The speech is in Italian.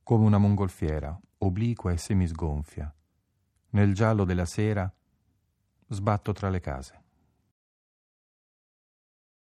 come una mongolfiera, obliqua e semisgonfia. Nel giallo della sera sbatto tra le case.